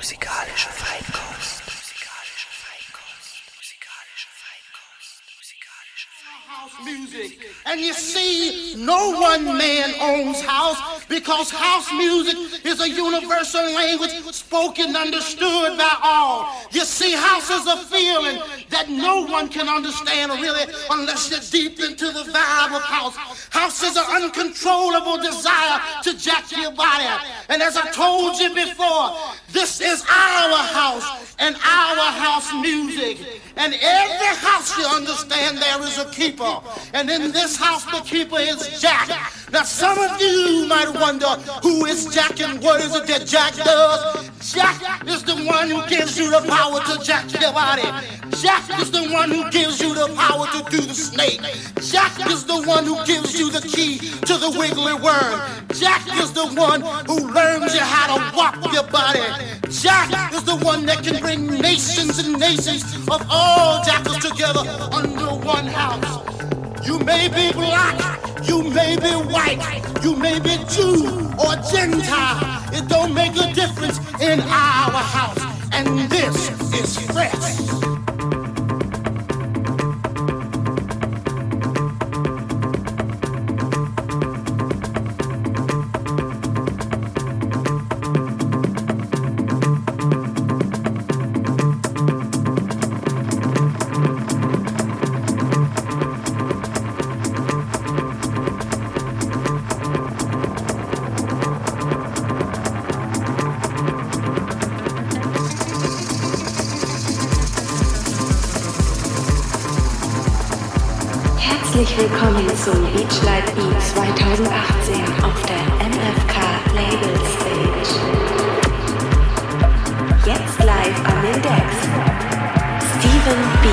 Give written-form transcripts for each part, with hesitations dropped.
Musikalische Feinkost. Music. And you see, no one man owns house because house music is a universal language spoken, understood by all. You see, house is a feeling that no one can understand really unless you're deep into the vibe of house. House is an uncontrollable desire to jack your body. And as I told you before, this is our house and our house music. And every house, you understand, there is a keeper. And in this house, the keeper is Jack. Now, some of you might wonder, who is Jack and what is it that Jack does? Jack is the one who gives you the power to jack your body. Jack is the one who gives you the power to do the snake. Jack is the one who gives you the key to the wiggly worm. Jack is the one who learns you how to walk your body. Jack is the one that can bring nations and nations of all jackals together under one house. You may be black, you may be white, you may be Jew or Gentile. It don't make a difference in our house. And this is fresh. Herzlich willkommen zum Beachlight Beat 2018 auf der MFK Label Stage. Jetzt live an den Decks Steven B.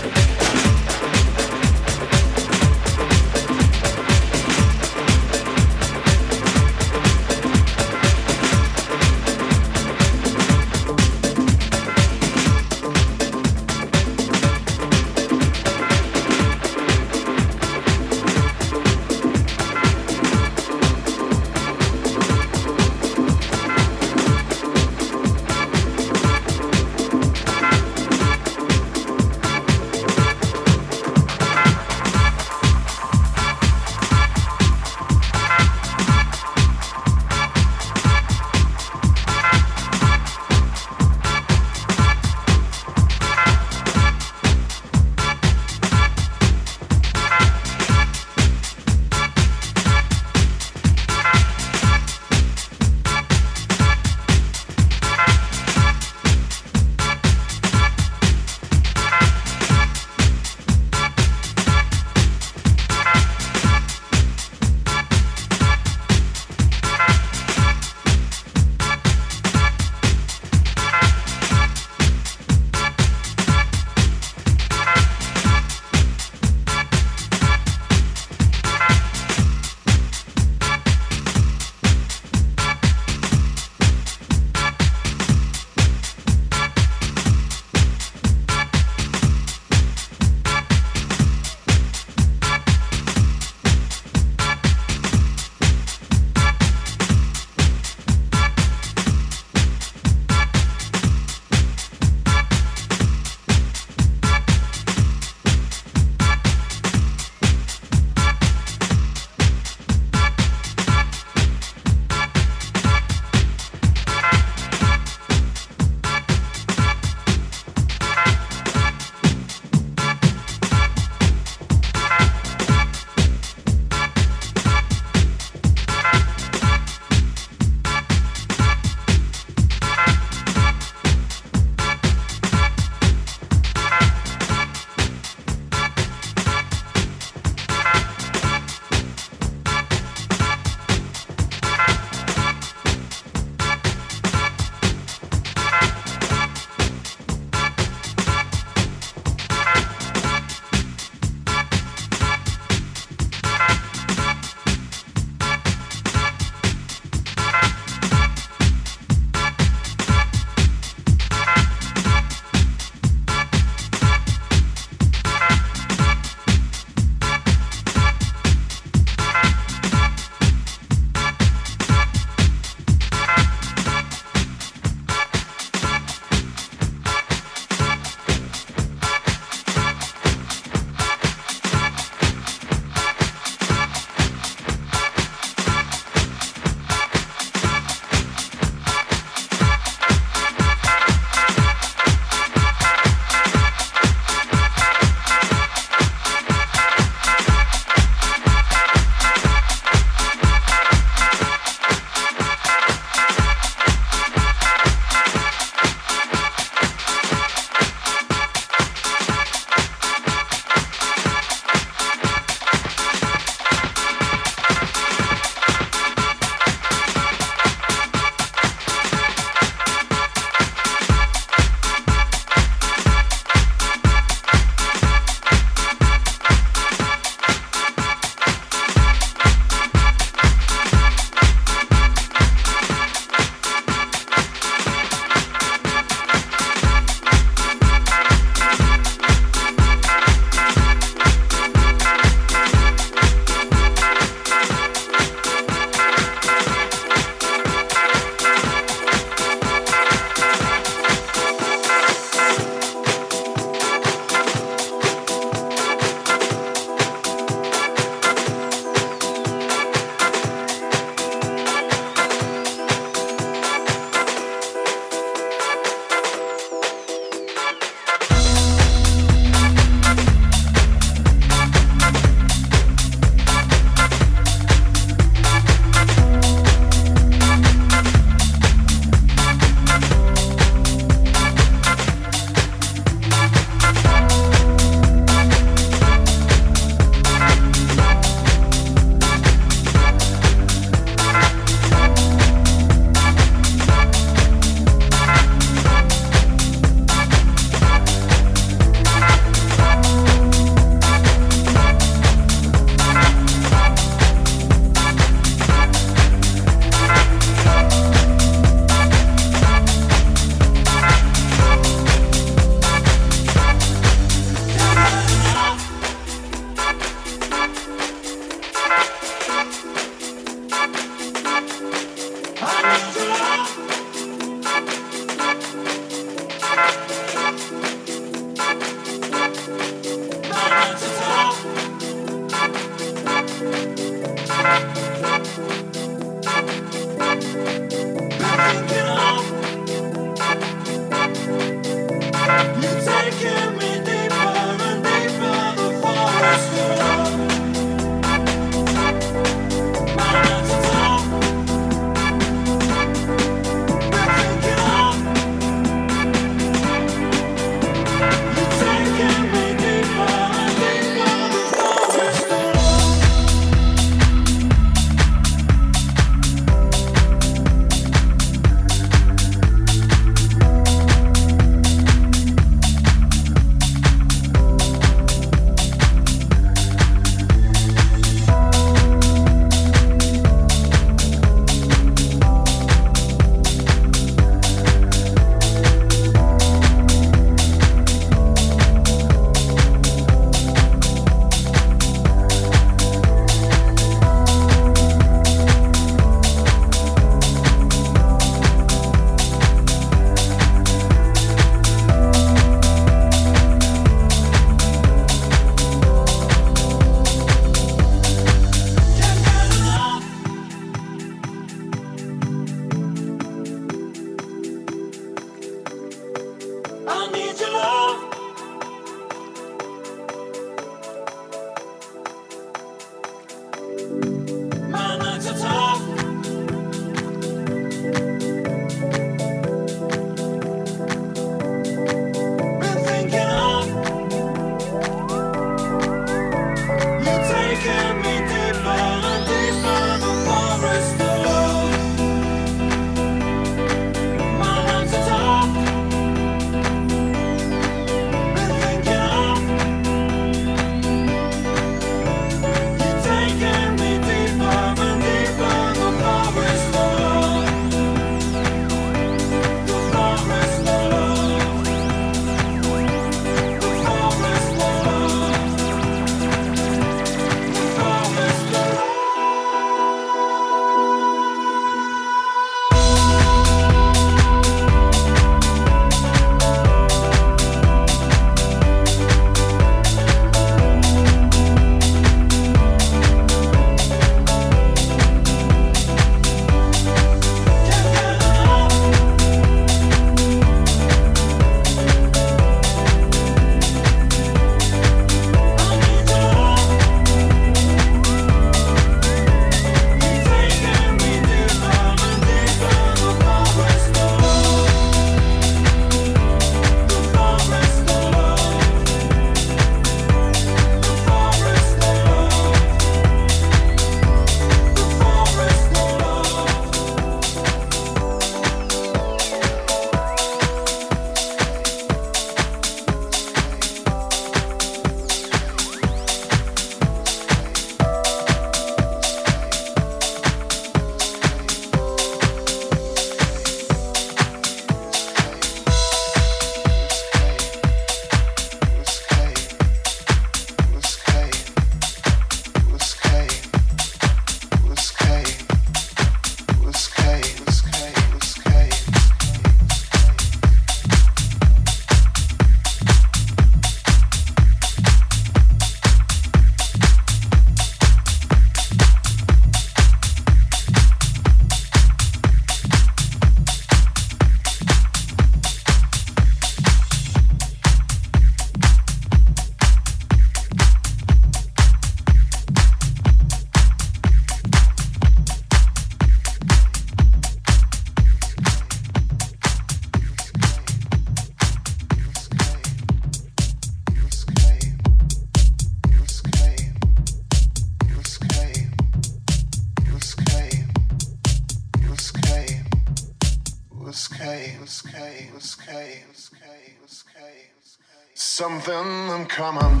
Something in common.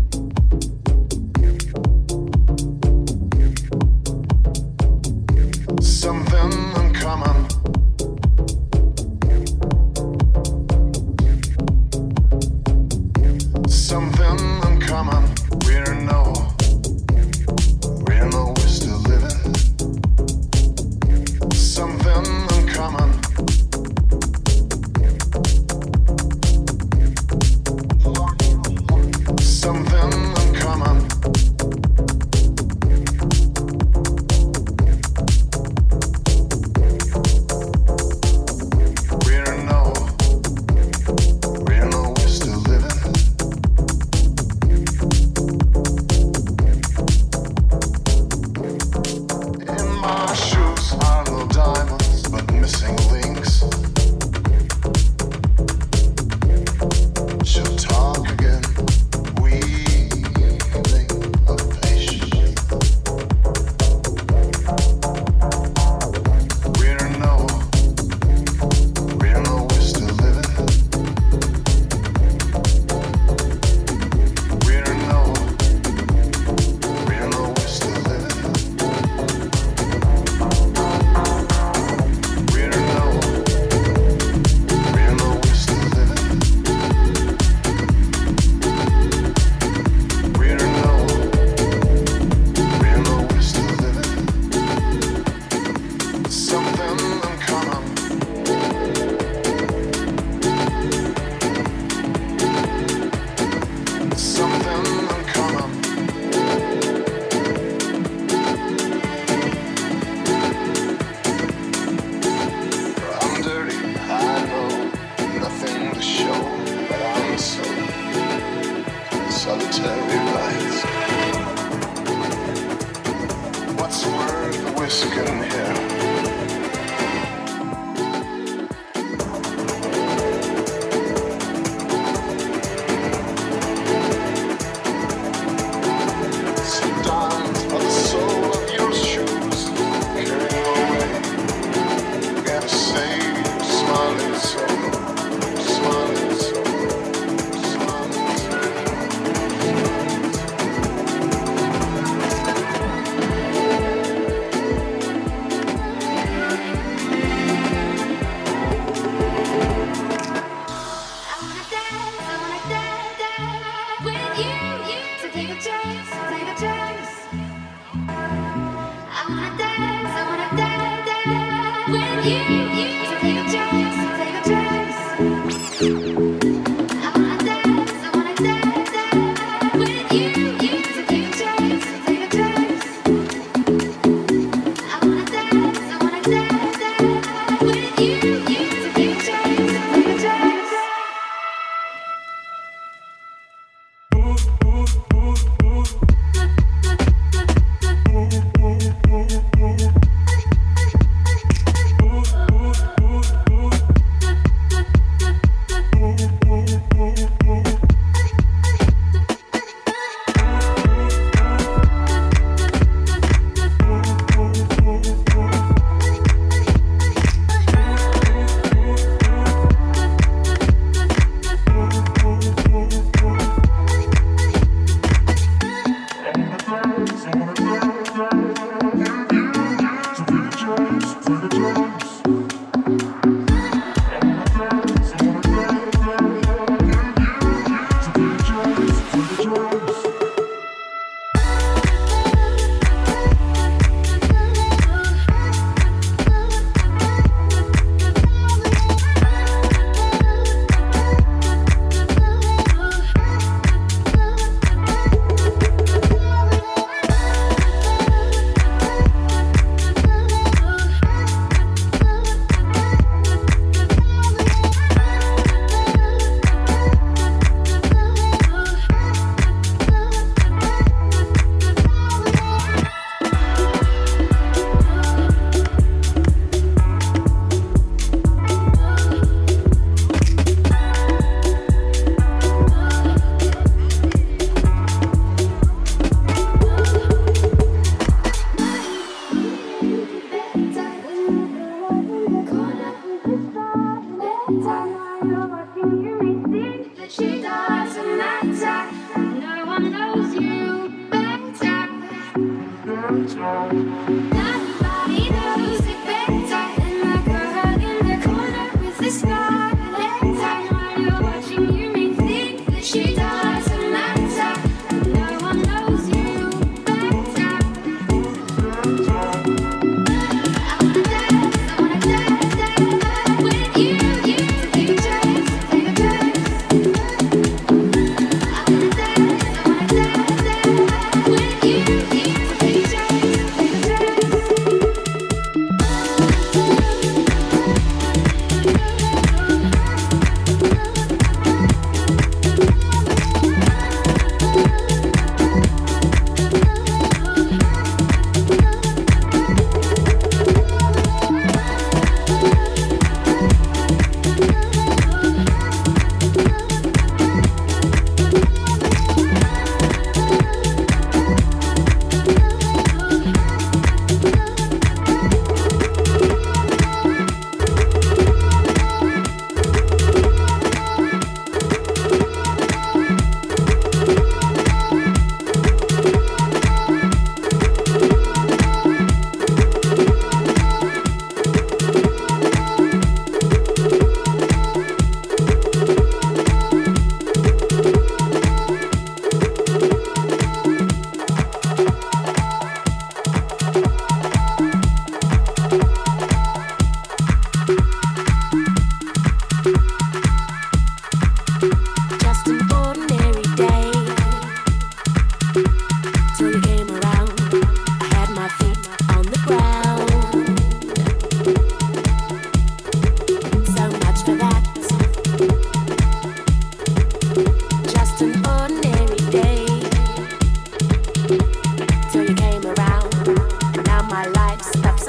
Something in common. Something in common. We don't know we're still living. Something risk getting here. Sometimes are the sole of your shoes carrying away. Gotta say, smiling so, smiling so, smiling so.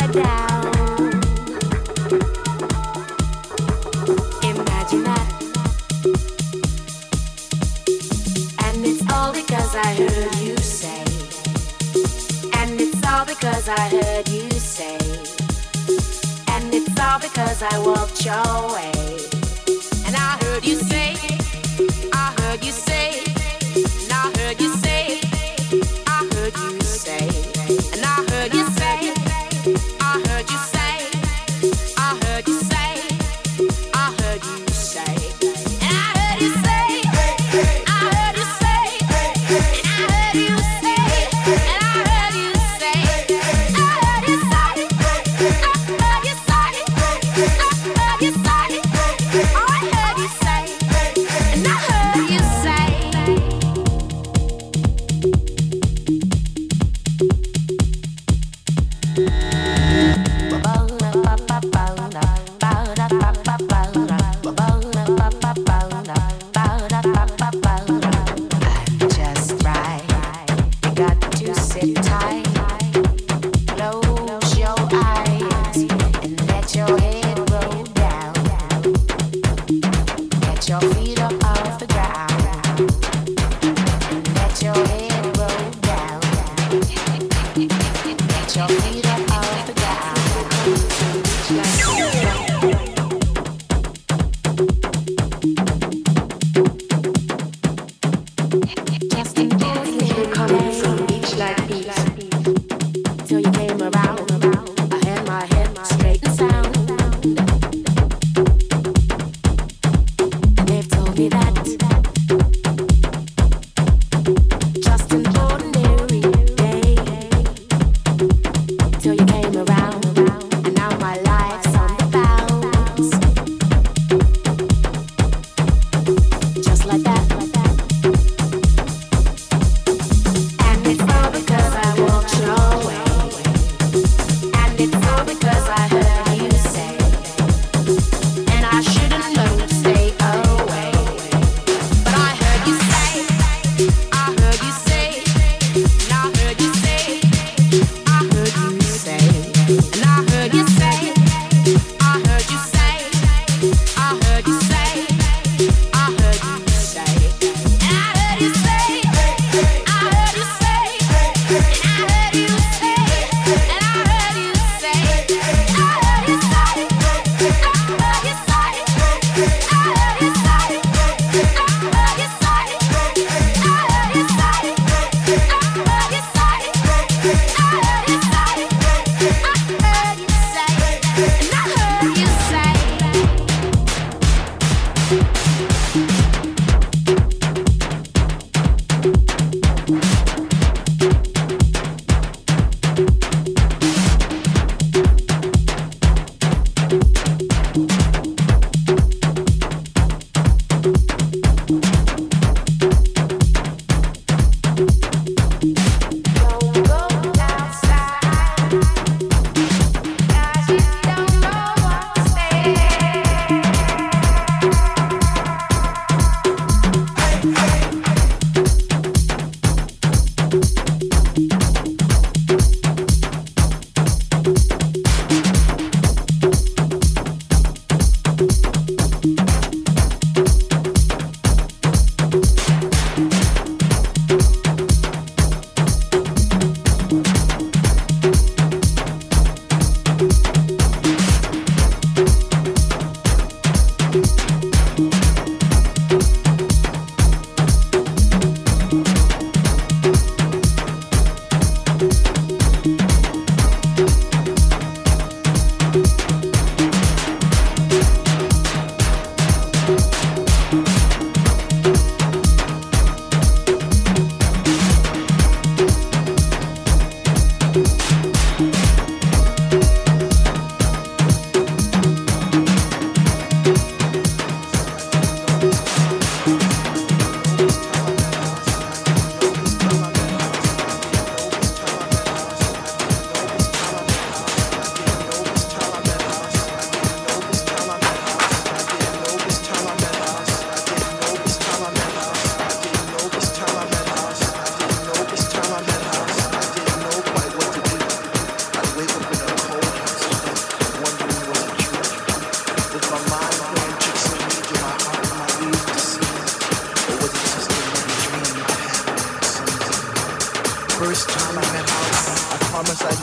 I heard you say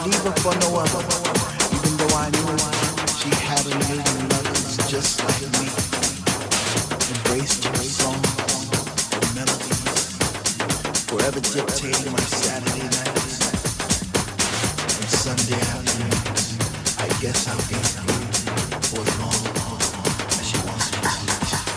leave her for no other, even though I knew she had a million lovers just like me. Embraced her songs and melodies, forever dictating my Saturday nights and Sunday afternoons. I guess I'll be through for as long as she wants me to.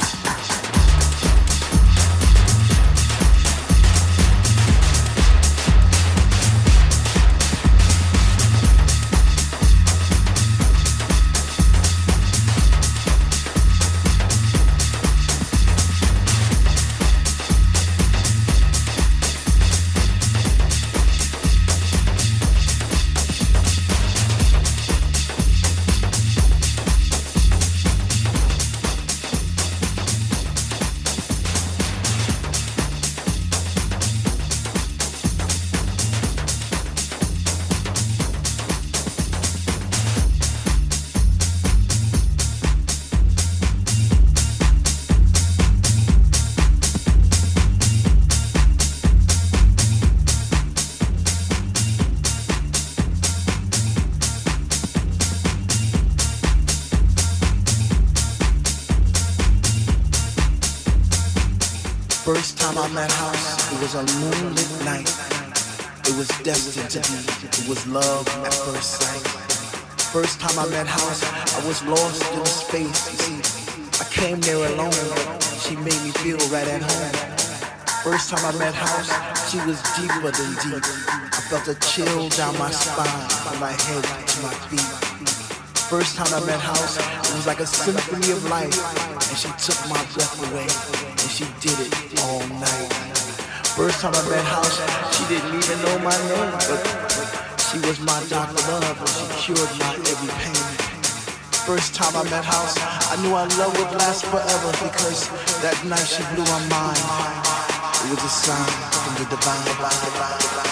First time I met House, it was a moonlit night. It was destined to be, it was love at first sight. First time I met House, I was lost in the space. You see, I came there alone, but she made me feel right at home. First time I met House, she was deeper than deep. I felt a chill down my spine, from my head to my feet. First time I met House, it was like a symphony of life, and she took my breath away, and she did it all night. First time I met House, she didn't even know my name, but she was my Dr. Love, and she cured my every pain. First time I met House, I knew our love would last forever, because that night she blew my mind. It was a sign from the divine.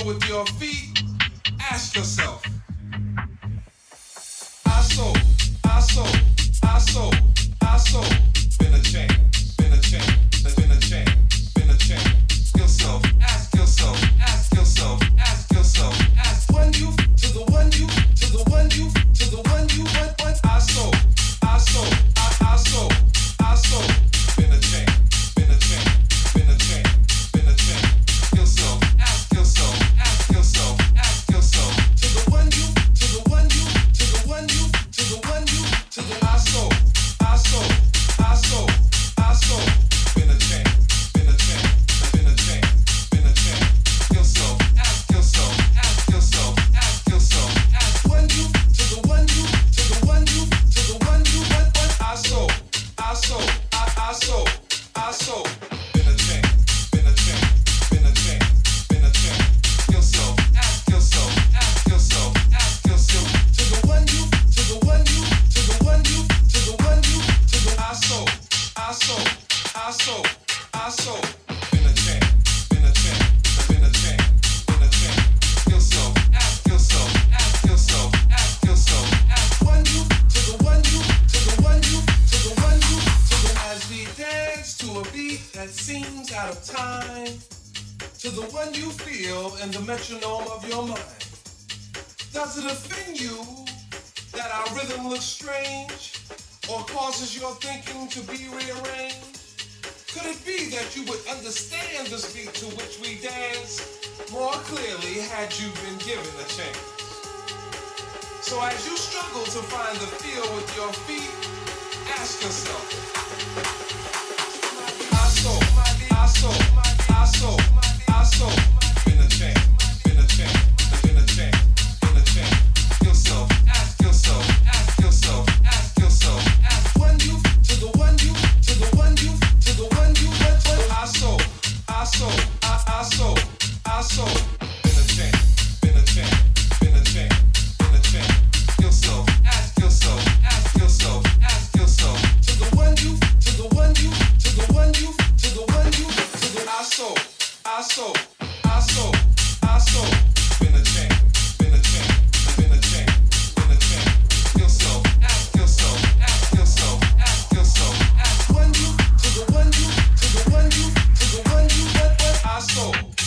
feel with your feet, ask yourself. I so, been a chain, been a chain, been a chain, been a chain. Yourself, ask yourself, ask yourself, ask yourself, ask one you to the one you to the one you to the one you want. I so, been a chain, been a chain, been a chain, been a chain. Yourself, ask yourself, ask yourself, ask yourself to the one you to the one you to the one you to the one you to the I so, been a chain, been a chain, been a chain, been a chain. Yourself, ask yourself, ask yourself, ask yourself, ask one you to the one you to the one you to the one you want. I so, been a chain, been a chain, been a chain, been a chain. Yourself, ask yourself, ask yourself, ask yourself to the one you to the one you to the one you to the one you to the I so, been a chain, been a chain, been a chain, been a chain. Yourself, ask yourself, ask yourself, ask yourself, ask one you to the one you to the one you to the one you to the as we dance to a beat that seems out of time, to the one you feel in the metronome of your mind. Does it offend you that our rhythm looks strange or causes your thinking to be rearranged? Could it be that you would understand this beat to which we dance more clearly had you been given a chance? So as you struggle to find the feel with your feet, ask yourself. I so, been a chain, been a chain, been a chain, been a chain. Yourself, ask yourself, ask yourself, ask yourself, ask one you to the one you to the one you to the one you want. I so, been a chain, been a chain, been a chain, been a chain. Yourself, ask yourself, ask yourself, ask yourself to the one you to the one you to the one you to the one you to the I so, been a chain, been a chain, been a chain, been a chain. Yourself, ask yourself, ask yourself, ask yourself, ask one you to the one you to the one you to the one you want. I so,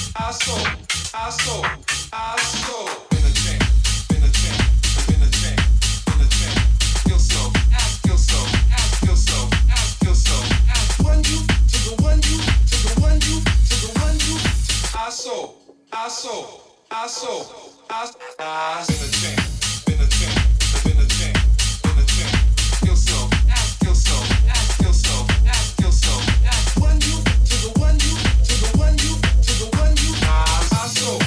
been a chain, been a chain, been a chain, been a chain. Yourself, ask yourself, ask yourself, ask yourself, ask one you to the one you to the one you to the one you. I so, been a chain, been a chain, been a chain, been a chain. Yourself, ask yourself, ask yourself, ask yourself, ask one you to the one you to the one you to the one you. I so,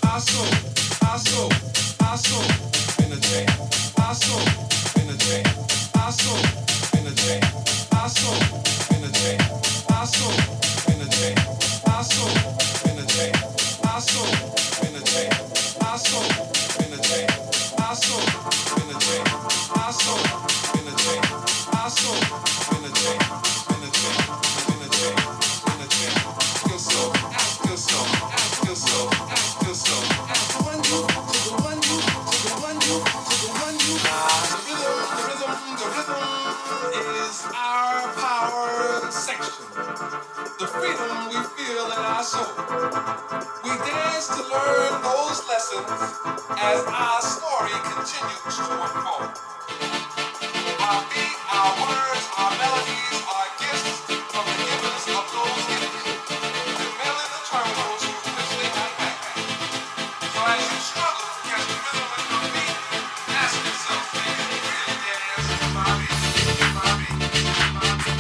been a chain, I so, been a chain, I so, been a chain, I so, been a chain, I so, been a chain, I so, been a chain, I so, been a chain, I so, been a chain, I so, been a chain, I so, been a chain, I so, been a chain, been a chain, been a chain, been a chain. Yourself, ask yourself, ask yourself, ask yourself, ask one you to the one you to the one you to the one you. The rhythm is our power section. The freedom we feel in our soul. We dance to learn those lessons as our story continues to unfold. Our beat, our words, our melodies are gifts from the givers of those gifts. They're merely the terminals through which they have backpacked. So as you struggle to catch the rhythm with your feet, ask yourself, can you really dance to my beat? My beat, my beat, my beat.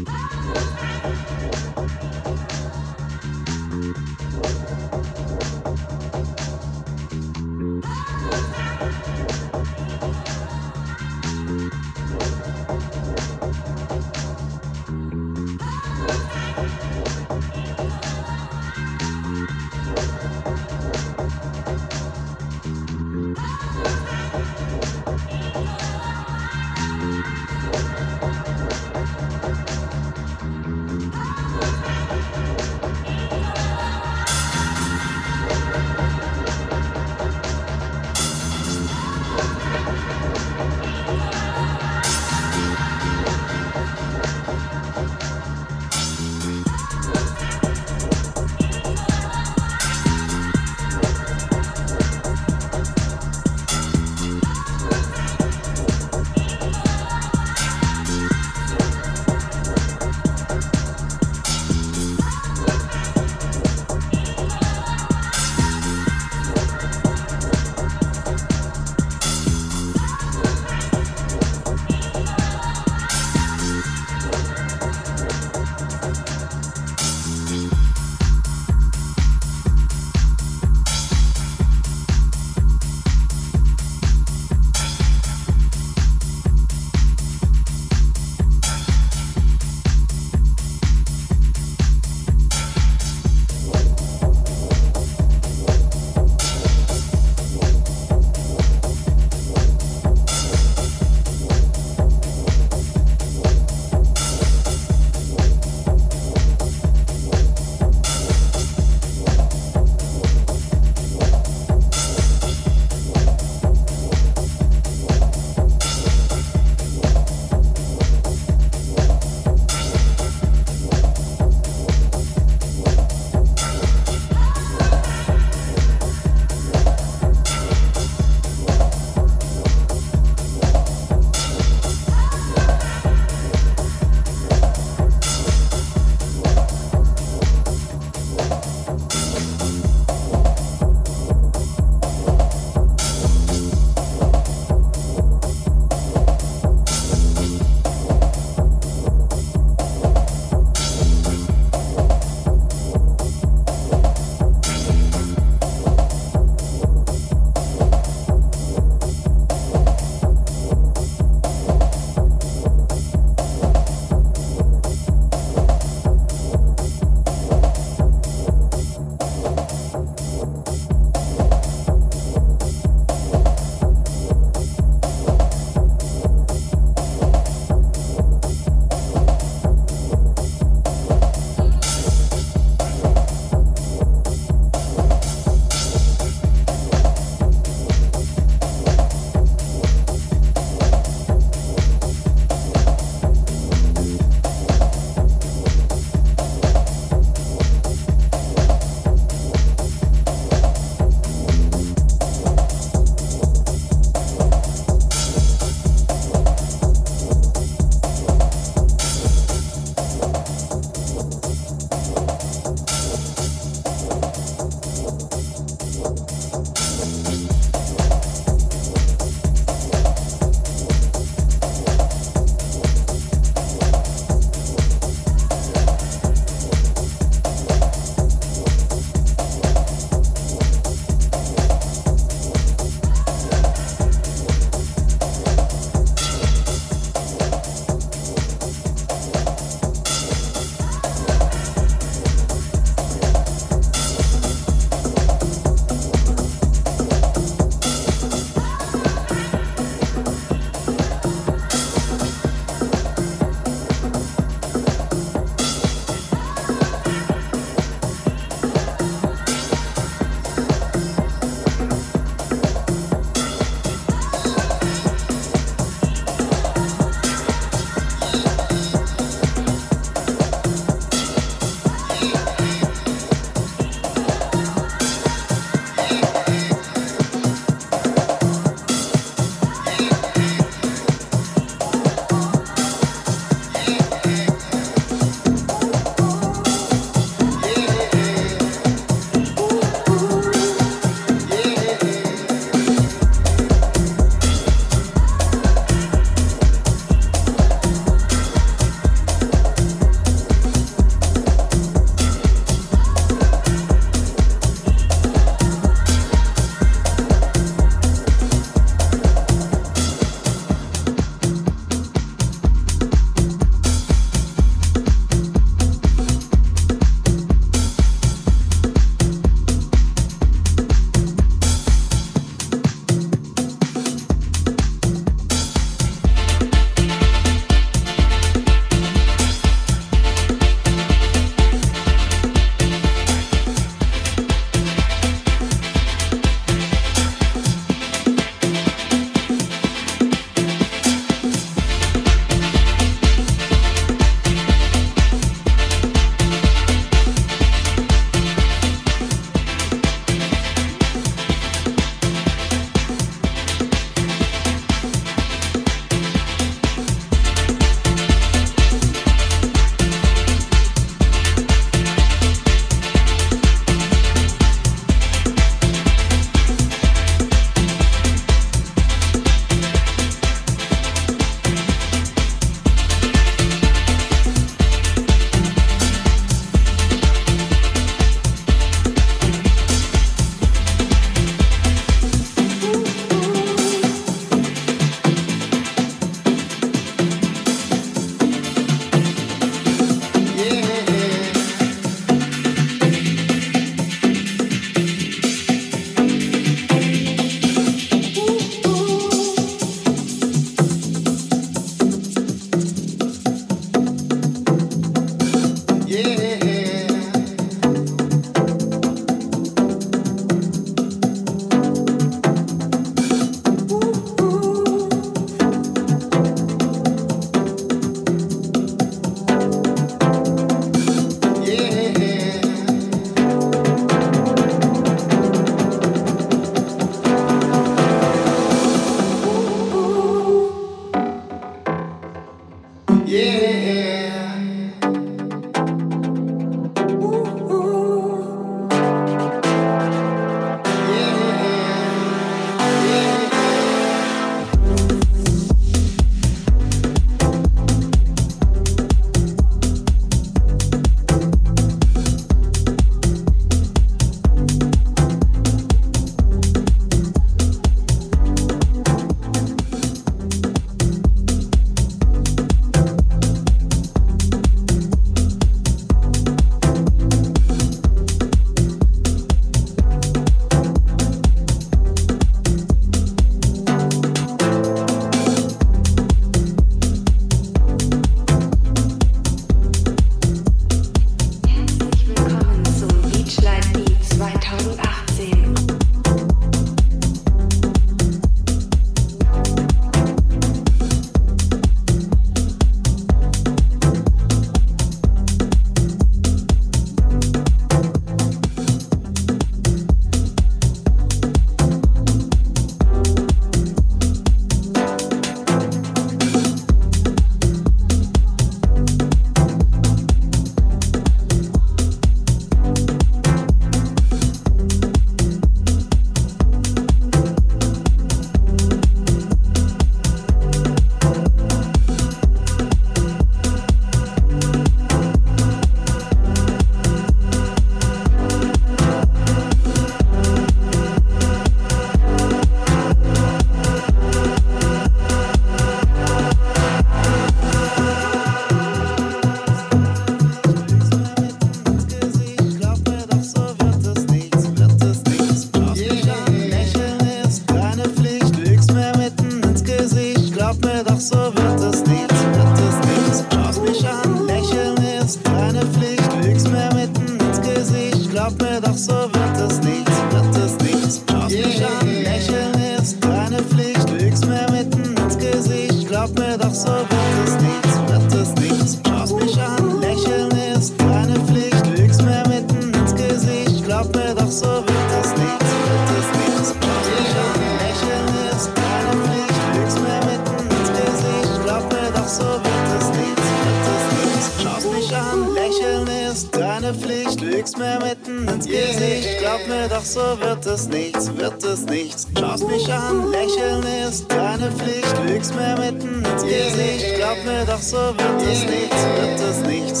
glaub mir doch, so wird es nichts, wird es nichts. Schaust mich an, lächeln ist deine Pflicht, lügst mir mitten ins Gesicht, glaub mir doch, so wird es nichts, wird es nichts. Schaust mich an, lächeln ist deine Pflicht, lügst mir mitten ins Gesicht, glaub mir doch, so wird es nichts, wird es nichts. Schaust mich an, lächeln ist deine Pflicht, lügst mir mitten ins Gesicht, glaub mir doch, so wird es nichts, wird es nichts. Schaust mich an, lächeln ist deine Pflicht, lügst mir mitten ins Gesicht, glaub mir doch, so wird es nichts, wird es nichts.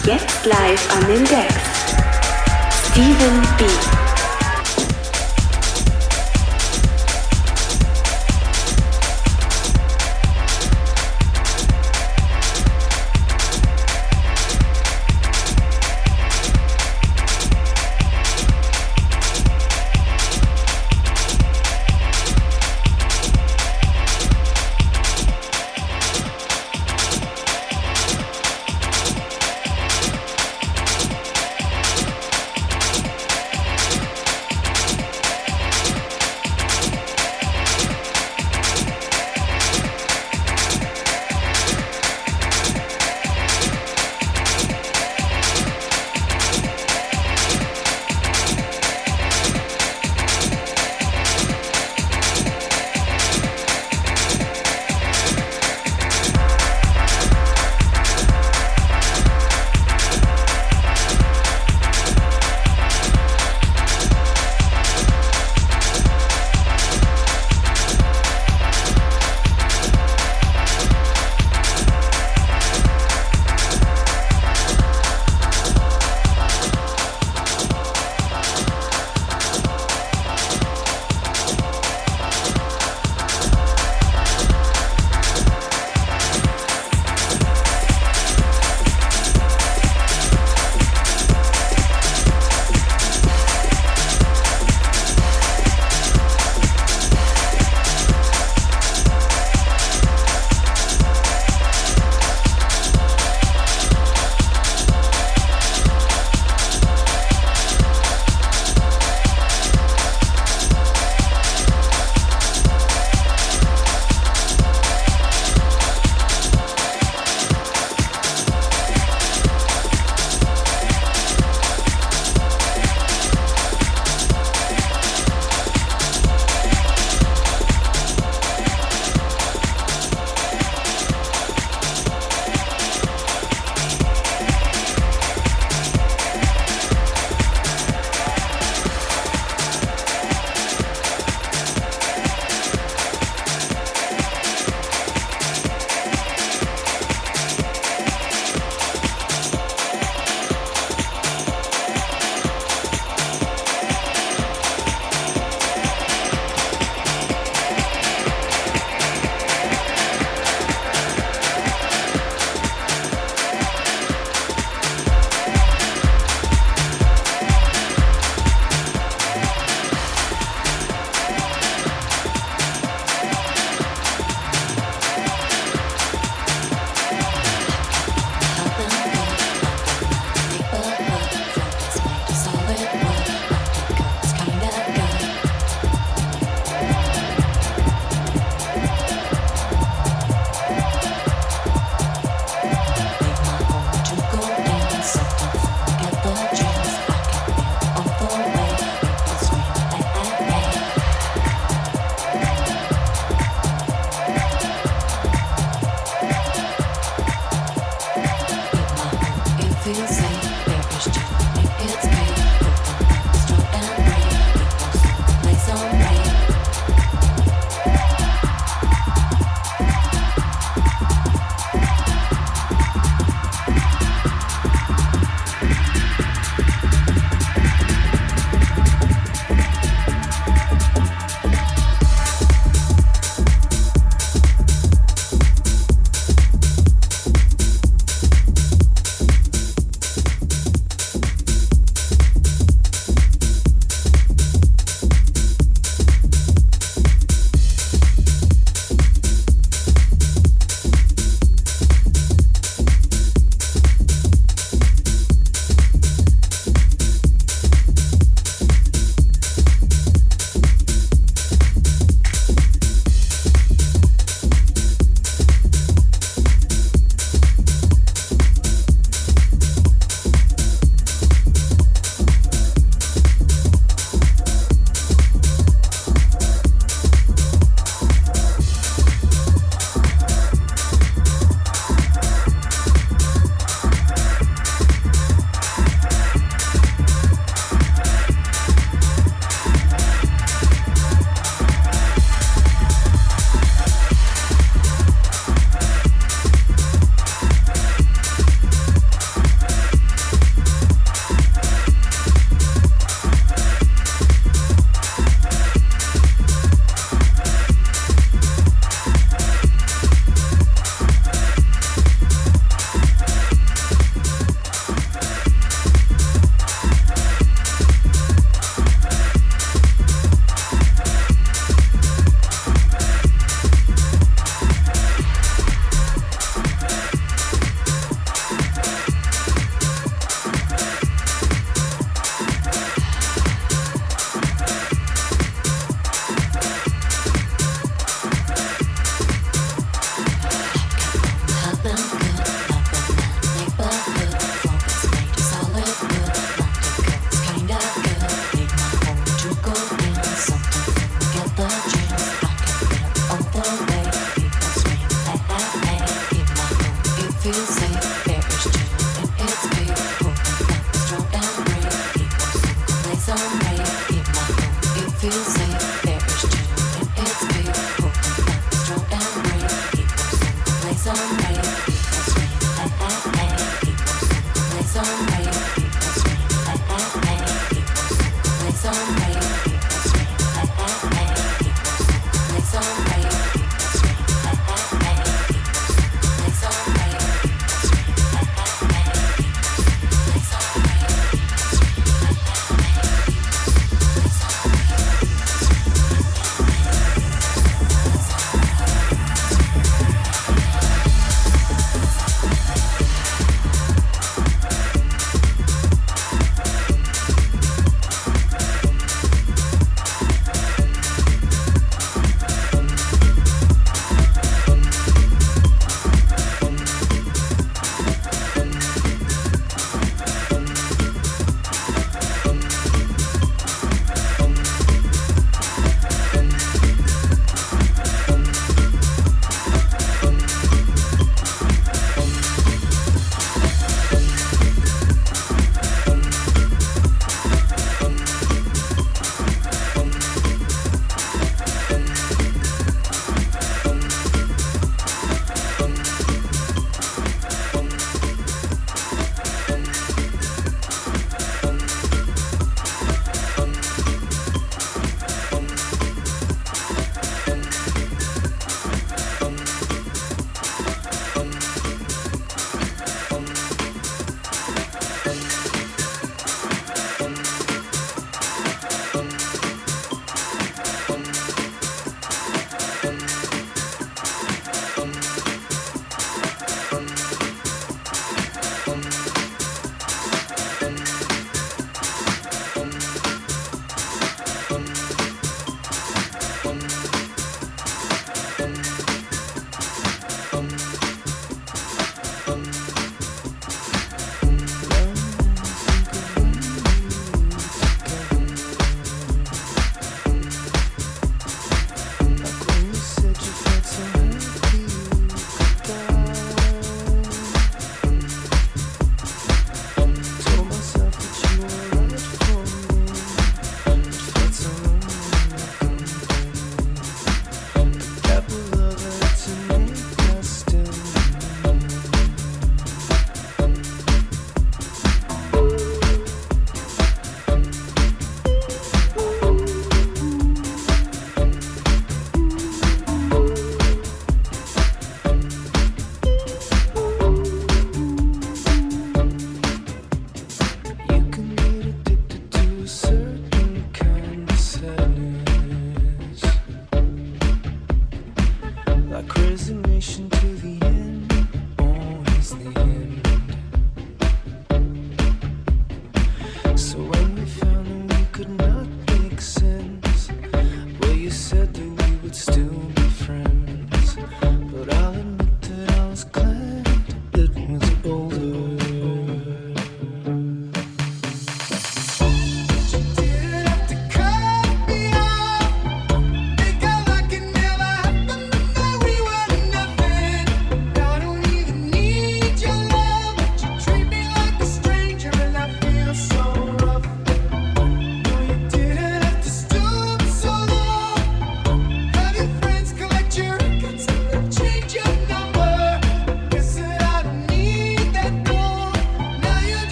Jetzt live an den Decks. Steven B.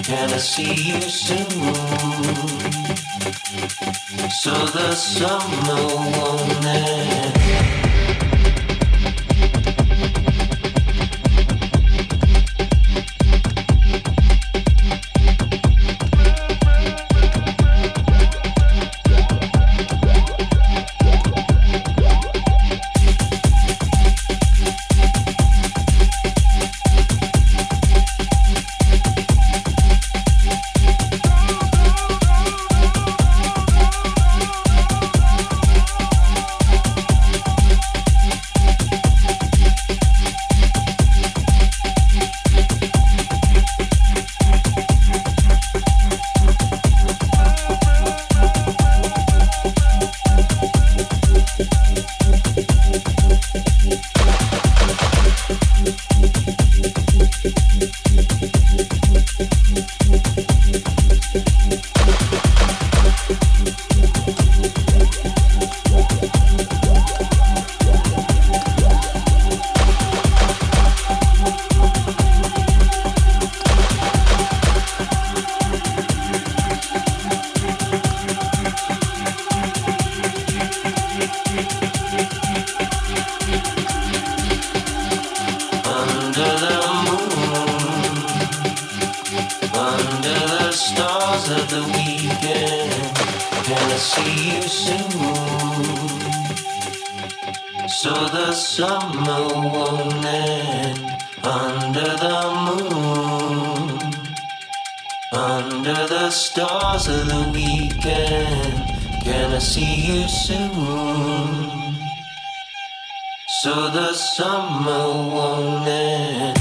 Can I see you soon? So the summer won't end. So the summer won't end.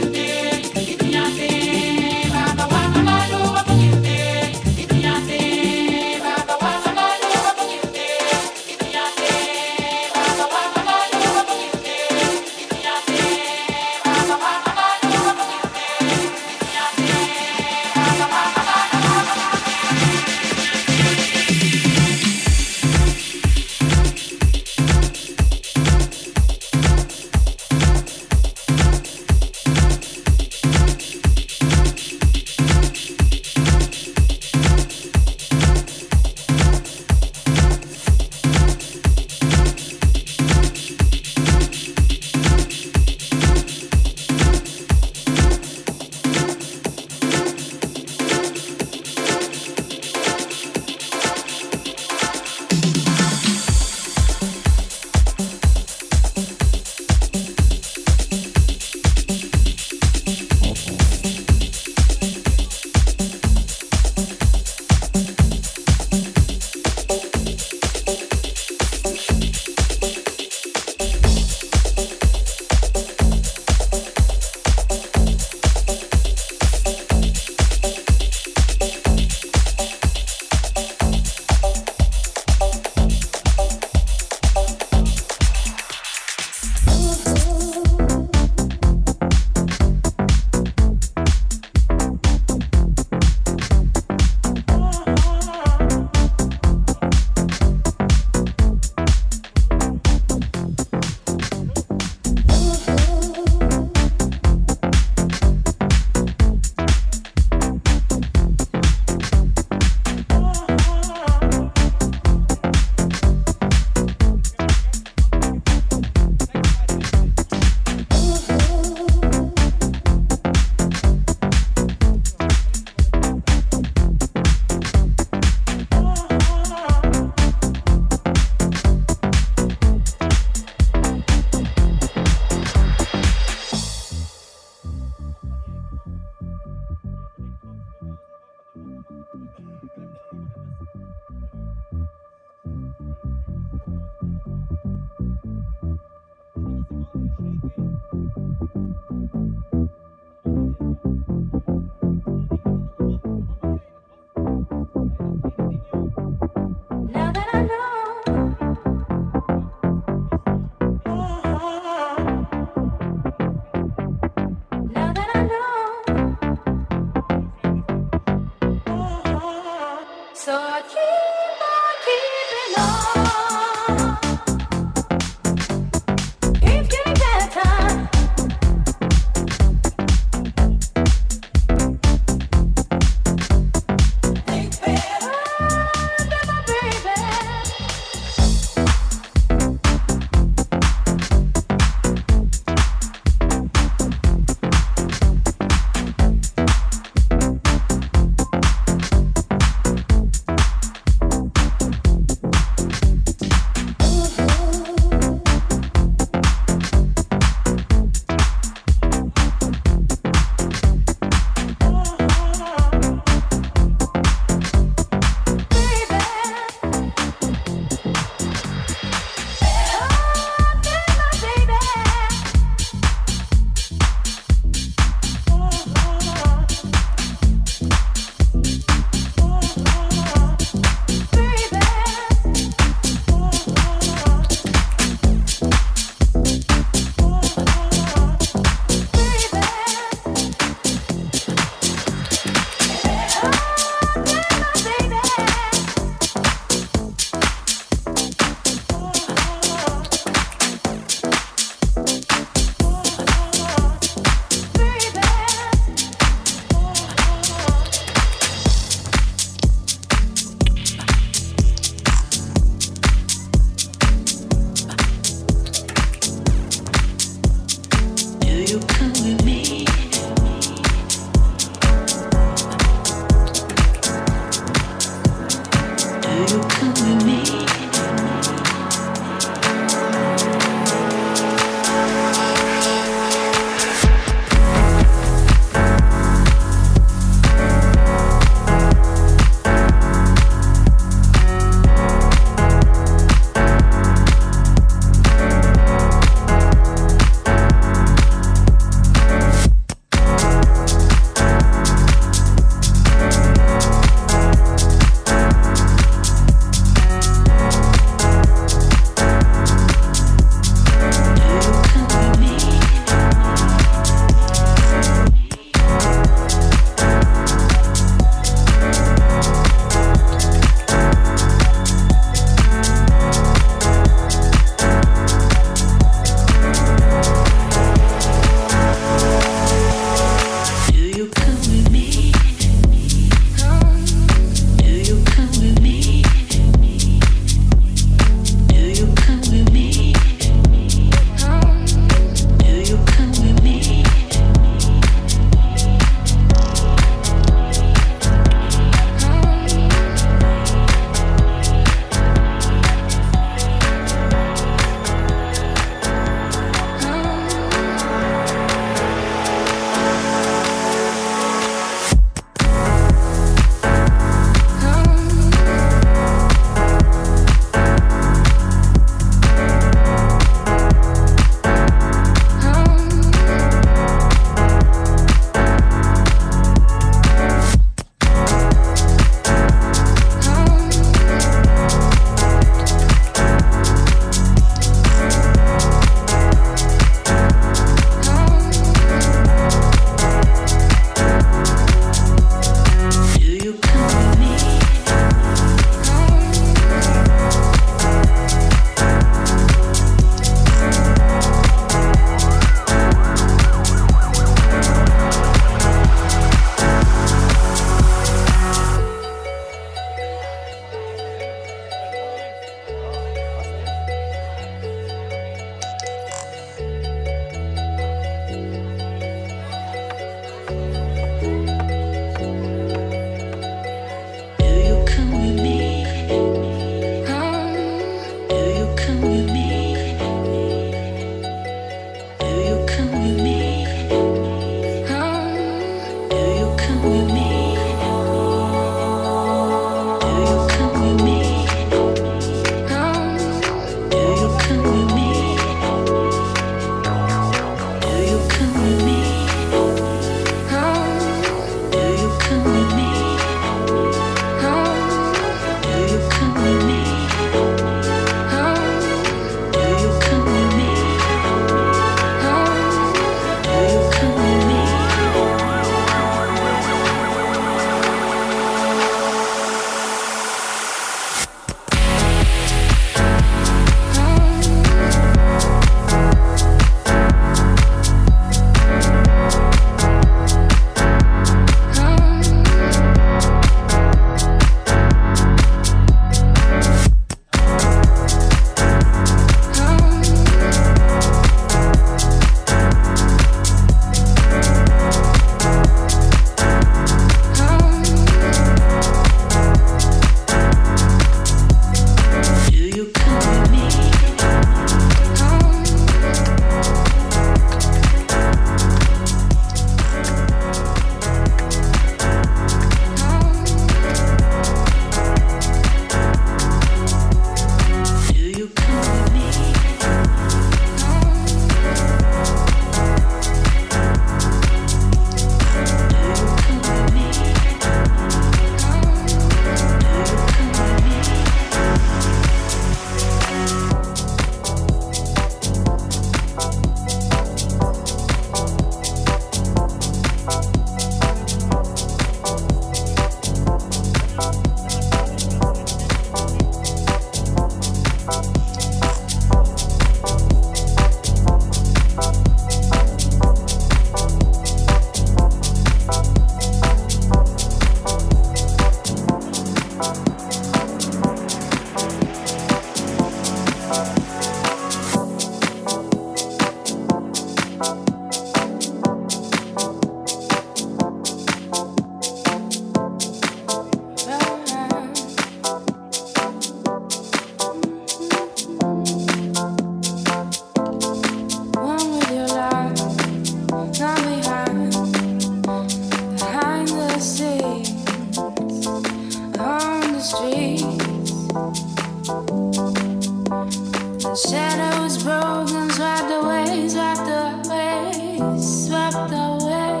swept away.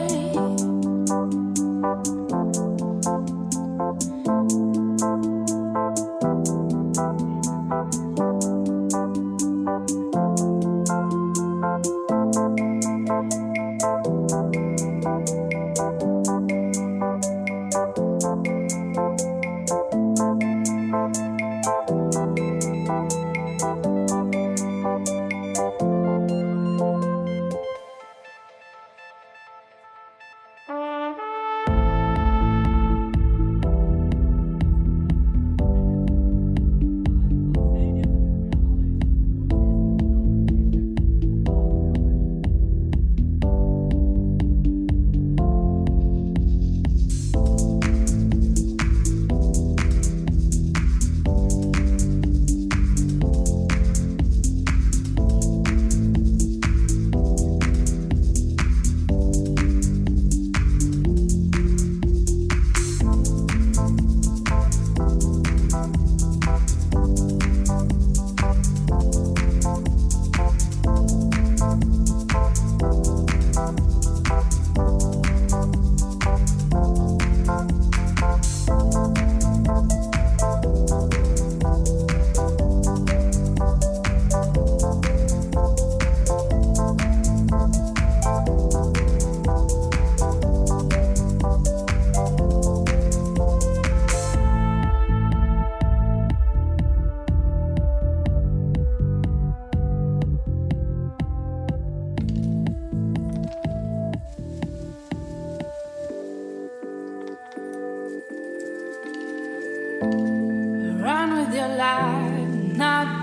Run with your life, not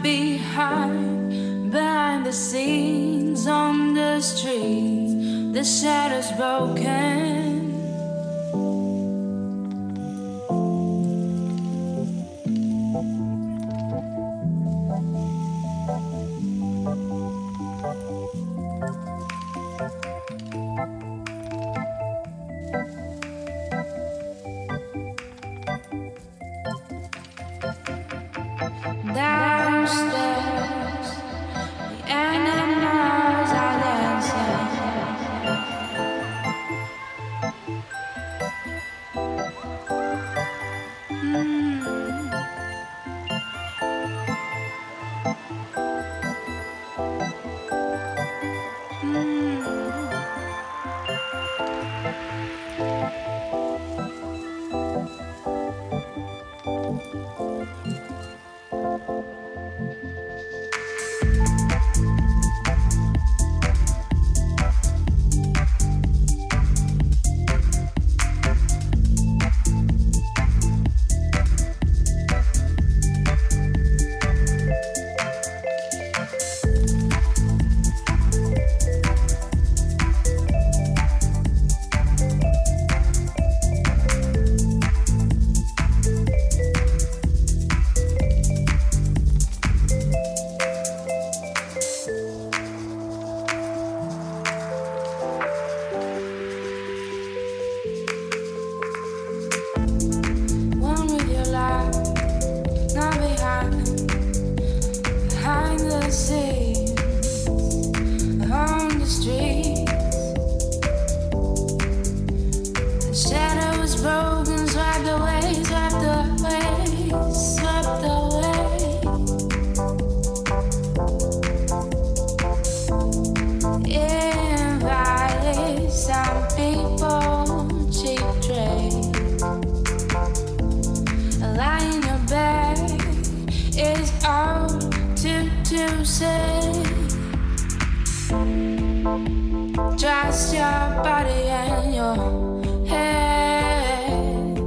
behind. Behind the scenes, on the streets, the shadows broken. Downstairs, the animals are dancing. Just your body and your head.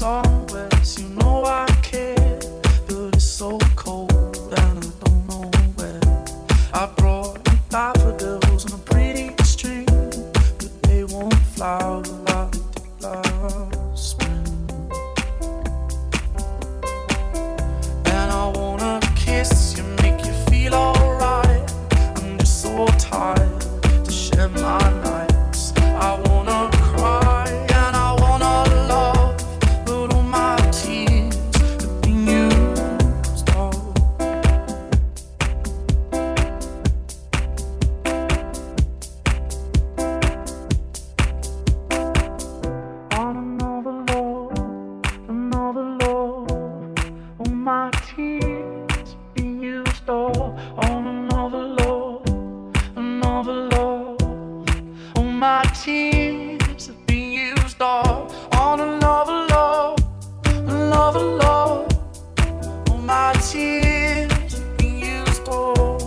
somewhere, you know I care, but it's so cold and I don't know where. I brought you daffodils on a pretty string, but they won't flower like the last spring. And I wanna kiss you, make you feel alright. I'm just so tired to share my nights. I wanna cry and I wanna love, but all my tears have been used up. On another love, all my tears have been used up. On another love, all my tears have been used up. On another love, all my tears have been used up.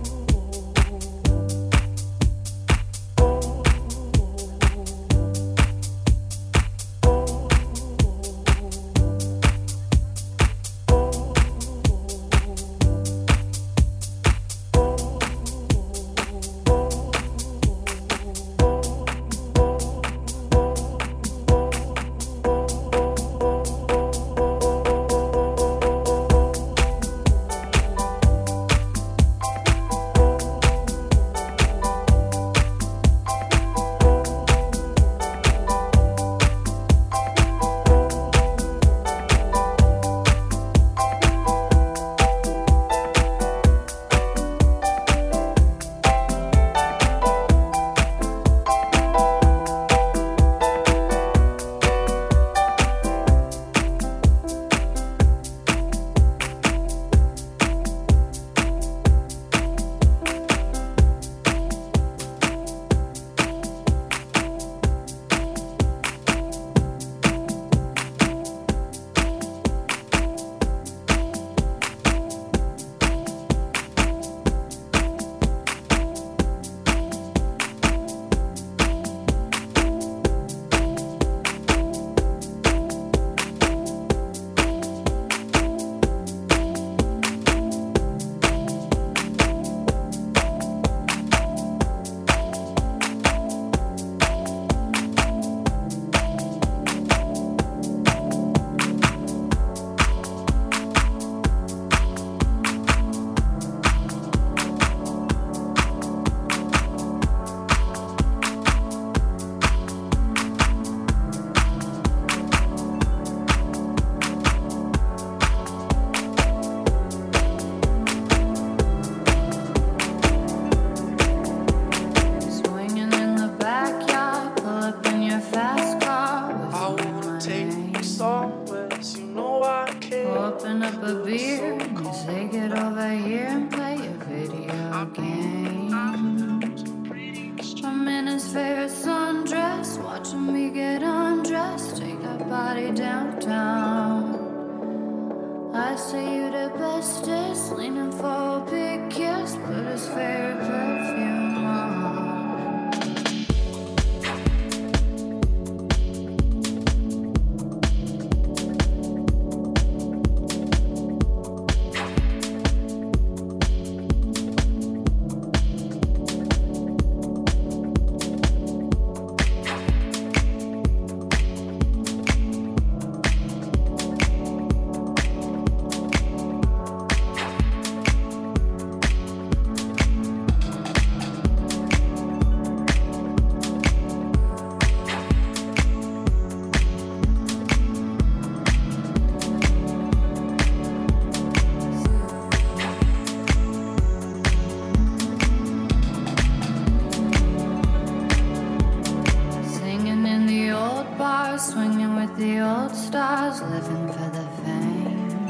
Swinging in the backyard, pull up in your fast car. I wanna take you somewhere, you know I care. Open up a beer, and you say get over here and play a video game. I'm in his favorite sundress, watching me get undressed, take that body downtown. I say you the bestest, leaning for a big kiss, put his favorite perfume on. Singing in the old bars, swinging with the old stars, living for the fame.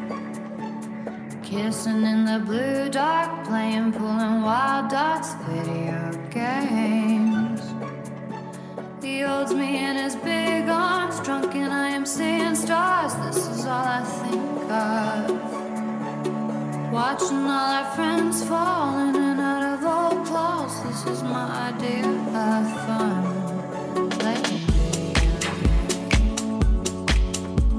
Kissing in the blue dark, playing, pulling wild dots, video games. He holds me in his big arms, drunk and I am seeing stars. This is all I think of. Watching all our friends fall in and out of old clothes. This is my idea of fun. Playing video games.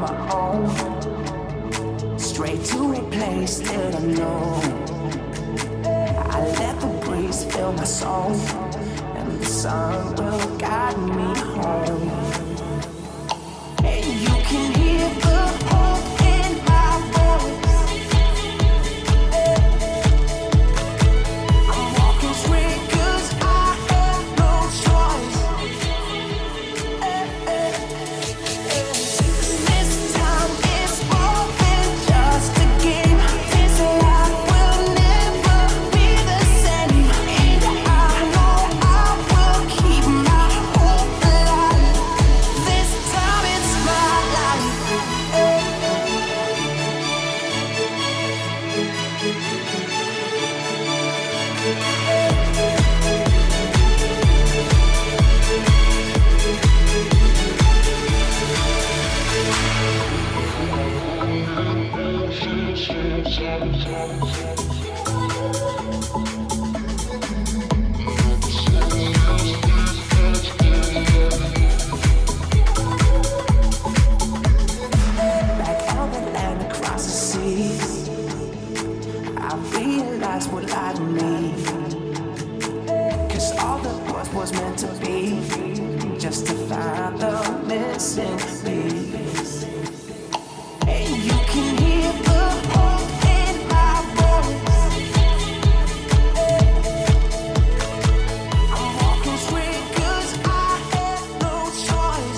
my own, straight to a place that I know. I let the breeze fill my soul, and the sun will guide me home. And you can hear the hope in my voice. I'm walking straight 'cause I have no choice. This time it's more than just a game. This life will never be the same. And I know I will keep my hope alive. This time it's my life. Back out the land across the sea, I realized what lied in me. 'Cause all that was meant to be, just to find the missing piece. And you can hear the hope in my voice. I'm walking straight 'cause I have no choice.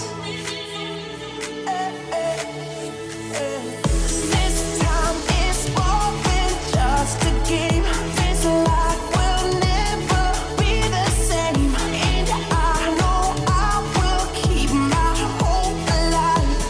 This time it's more than just a game. This life will never be the same. And I know I will keep my hope alive.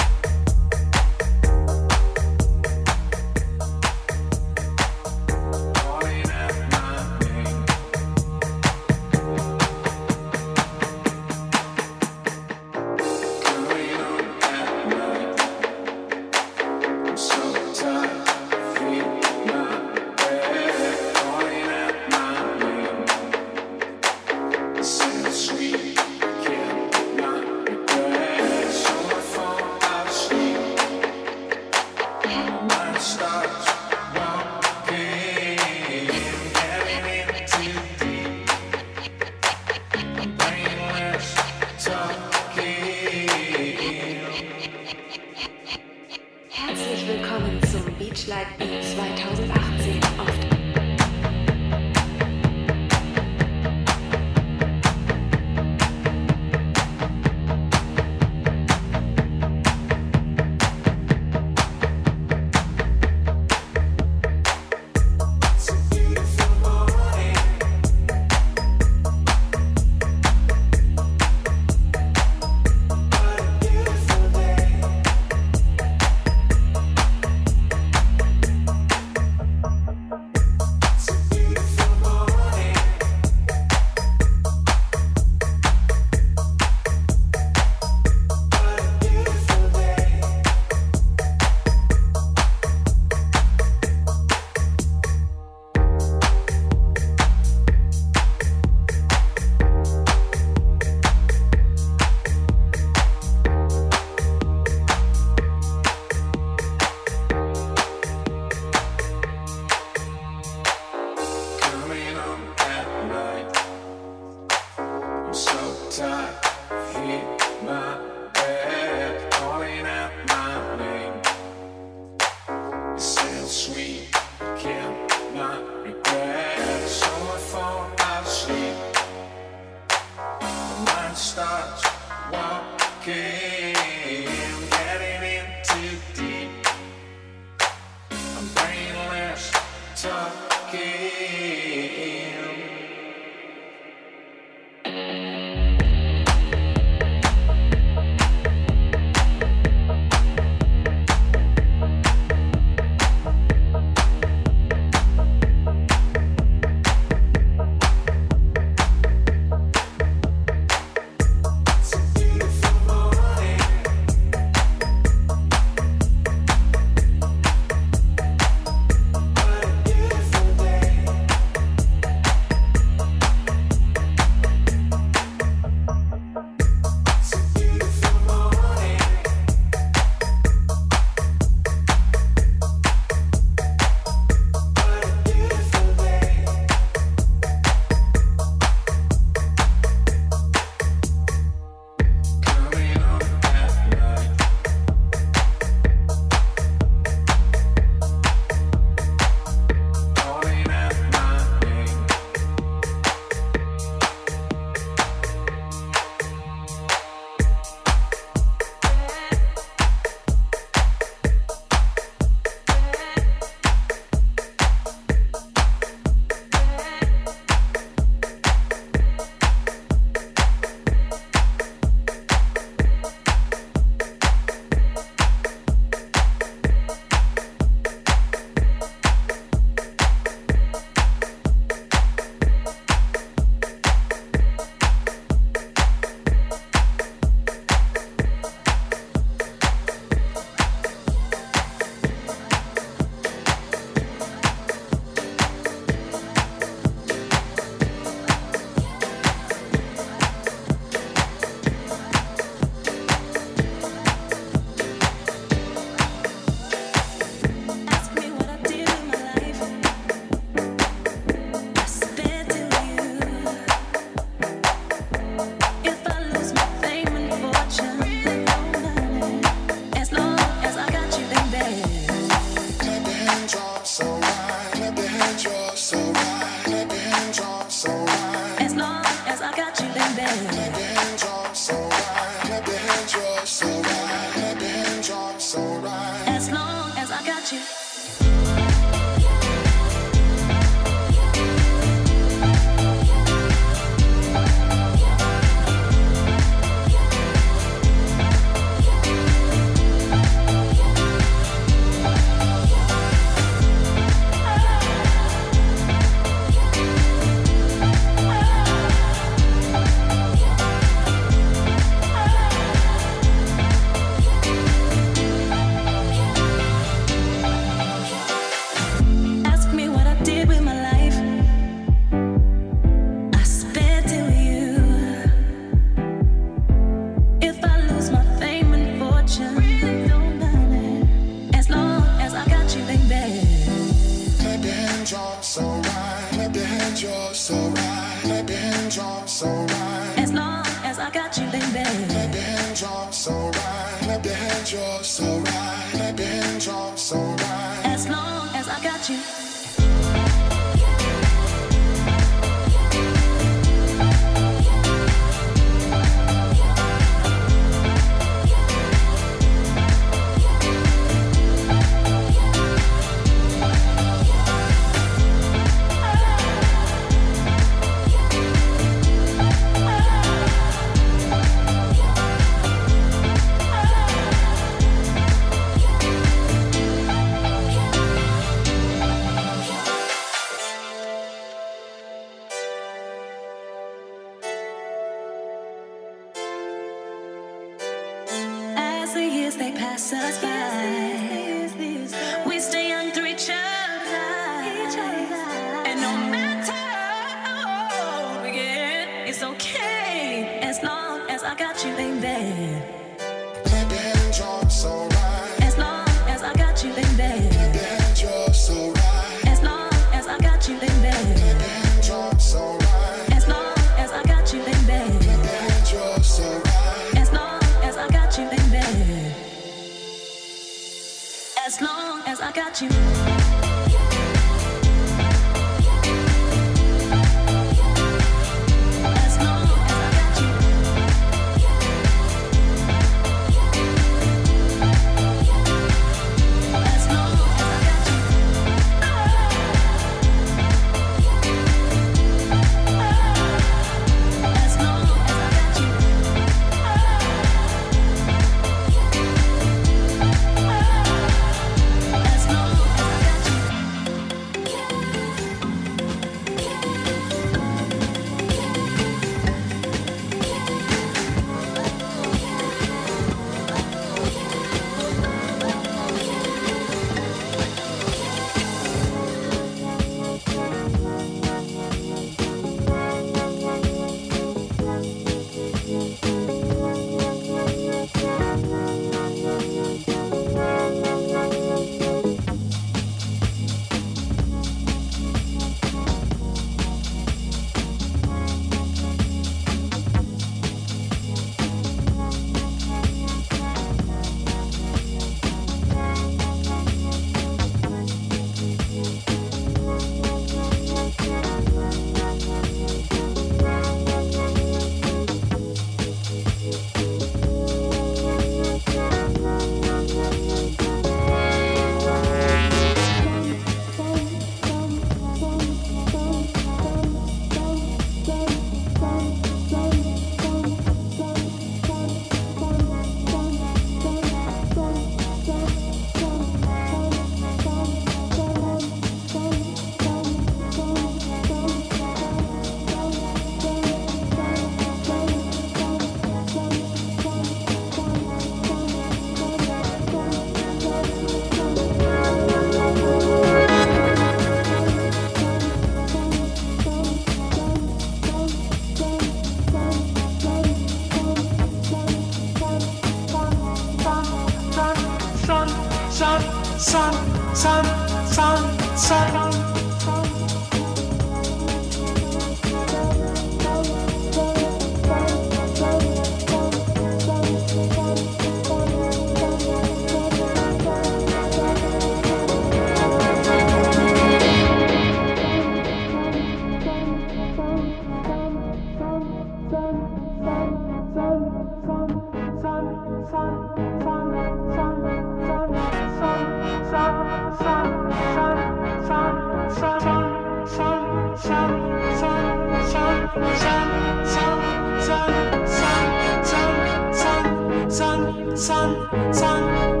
sun, sun, sun, sun, sun, sun, sun.